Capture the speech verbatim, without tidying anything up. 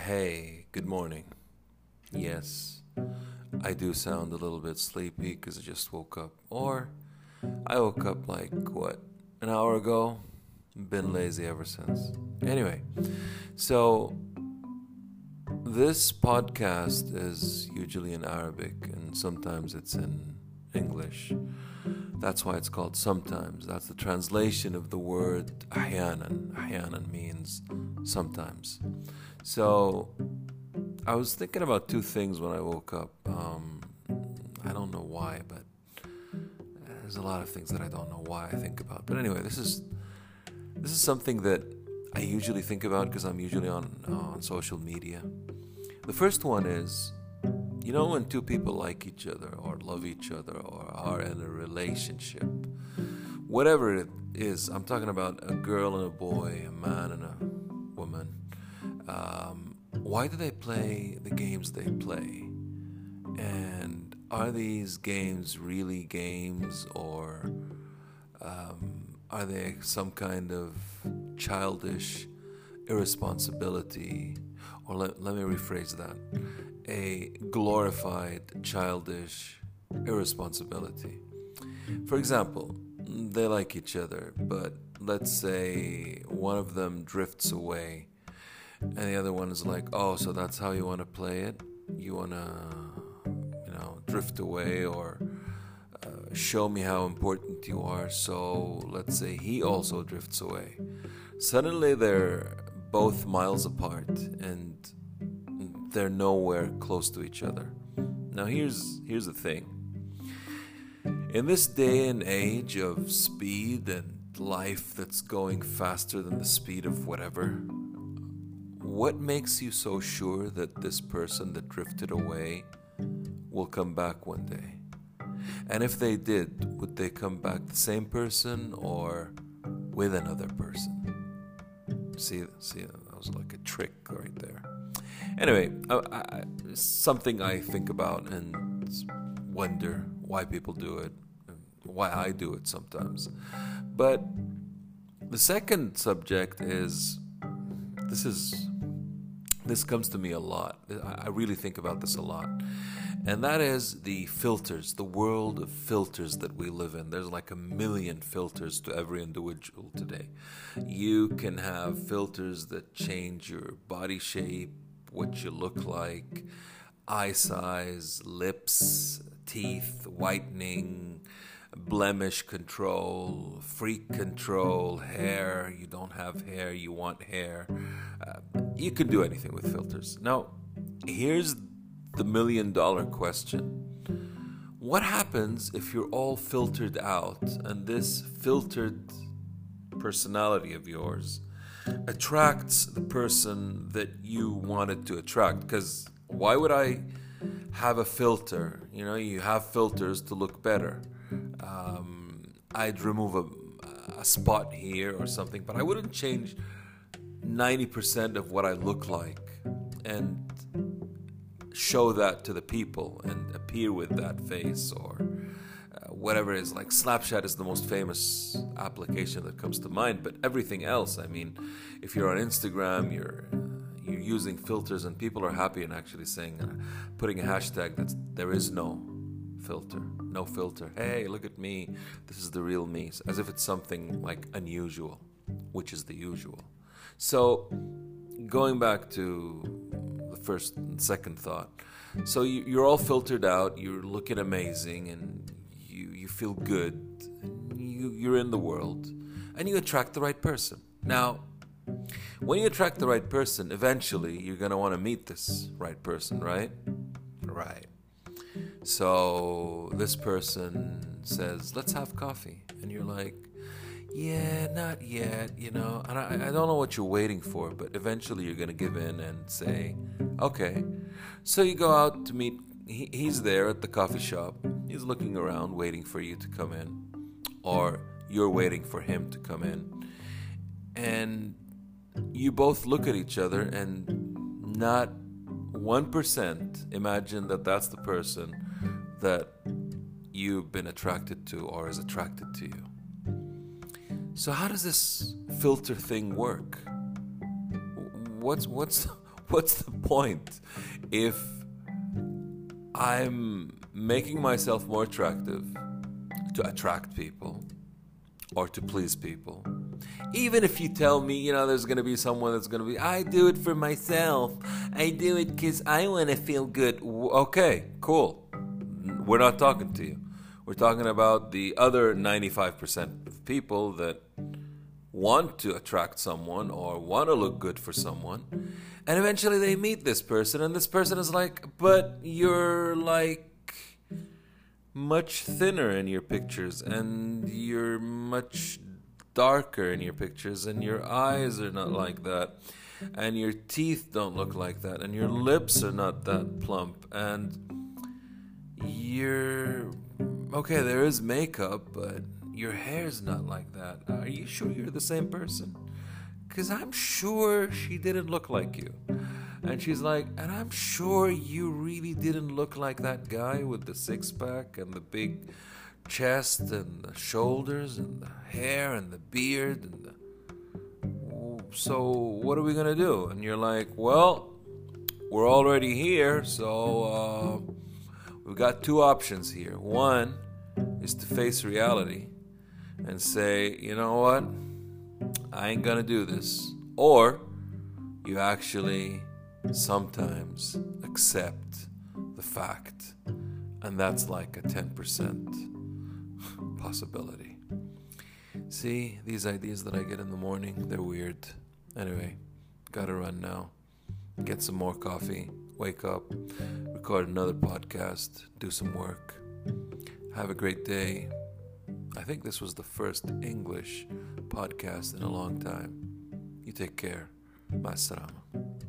Hey, good morning. Yes, I do sound a little bit sleepy because I just woke up. Or I woke up like, what, an hour ago? Been lazy ever since. Anyway, so this podcast is usually in Arabic and sometimes it's in English. That's why it's called sometimes. That's the translation of the word ahyanan. Ahyanan means sometimes. So I was thinking about two things when I woke up. Um, I don't know why, but there's a lot of things that I don't know why I think about. But anyway, this is this is something that I usually think about because I'm usually on uh, on social media. The first one is, you know, when two people like each other or love each other or are in a relationship, whatever it is, I'm talking about a girl and a boy, a man and a woman. Um, why do they play the games they play? And are these games really games, or um, are they some kind of childish irresponsibility? Or let, let me rephrase that. A glorified childish irresponsibility. For example, they like each other, but let's say one of them drifts away and the other one is like, oh, so that's how you want to play it? You want to, you know, drift away or uh, show me how important you are. So let's say he also drifts away. Suddenly they're both miles apart and they're nowhere close to each other. Now here's here's the thing. In this day and age of speed and life that's going faster than the speed of whatever, what makes you so sure that this person that drifted away will come back one day? And if they did, would they come back the same person or with another person? See, see, that was like a trick right there. Anyway, I, I, something I think about and wonder why people do it, and why I do it sometimes. But the second subject is, this is, this comes to me a lot. I really think about this a lot. And that is the filters, the world of filters that we live in. There's like a million filters to every individual today. You can have filters that change your body shape, what you look like, eye size, lips, teeth, whitening, blemish control, freak control, hair. You don't have hair, you want hair. Uh, you can do anything with filters. Now, here's the million dollar question. What happens if you're all filtered out and this filtered personality of yours attracts the person that you wanted to attract? Because why would I have a filter? You know, you have filters to look better. Um, I'd remove a, a spot here or something, but I wouldn't change ninety percent of what I look like and show that to the people and appear with that face or uh, whatever it is. Like Snapchat is the most famous application that comes to mind, but everything else, I mean, if you're on Instagram, you're uh, you're using filters and people are happy and actually saying, uh, putting a hashtag that there is no filter, no filter. Hey, look at me. This is the real me. As if it's something like unusual, which is the usual. So going back to the first and second thought. So you, you're all filtered out, you're looking amazing, and you, you feel good. You, you're in the world, and you attract the right person. Now, when you attract the right person, eventually you're going to want to meet this right person, right? Right. So this person says, let's have coffee. And you're like, yeah, not yet, you know, and I, I don't know what you're waiting for, but eventually you're going to give in and say, okay. So you go out to meet, he, he's there at the coffee shop, he's looking around, waiting for you to come in, or you're waiting for him to come in, and you both look at each other and not one percent imagine that that's the person that you've been attracted to or is attracted to you. So how does this filter thing work? What's what's What's the point if I'm making myself more attractive to attract people or to please people? Even if you tell me, you know, there's going to be someone that's going to be, I do it for myself. I do it because I want to feel good. Okay, cool. We're not talking to you. We're talking about the other ninety-five percent of people that want to attract someone or want to look good for someone. And eventually they meet this person, and this person is like, but you're like much thinner in your pictures, and you're much darker in your pictures, and your eyes are not like that, and your teeth don't look like that, and your lips are not that plump, and you're okay, there is makeup, but your hair's not like that. Are you sure you're the same person? Because I'm sure she didn't look like you. And she's like, and I'm sure you really didn't look like that guy with the six-pack and the big chest and the shoulders and the hair and the beard. And the... So what are we going to do? And you're like, well, we're already here, so uh, we've got two options here. One is to face reality and say, you know what? I ain't gonna do this. Or you actually sometimes accept the fact, and that's like a ten percent possibility. See, these ideas that I get in the morning, they're weird. Anyway, gotta run now. Get some more coffee, wake up, record another podcast, do some work. Have a great day. I think this was the first English podcast in a long time. You take care. Ma salama.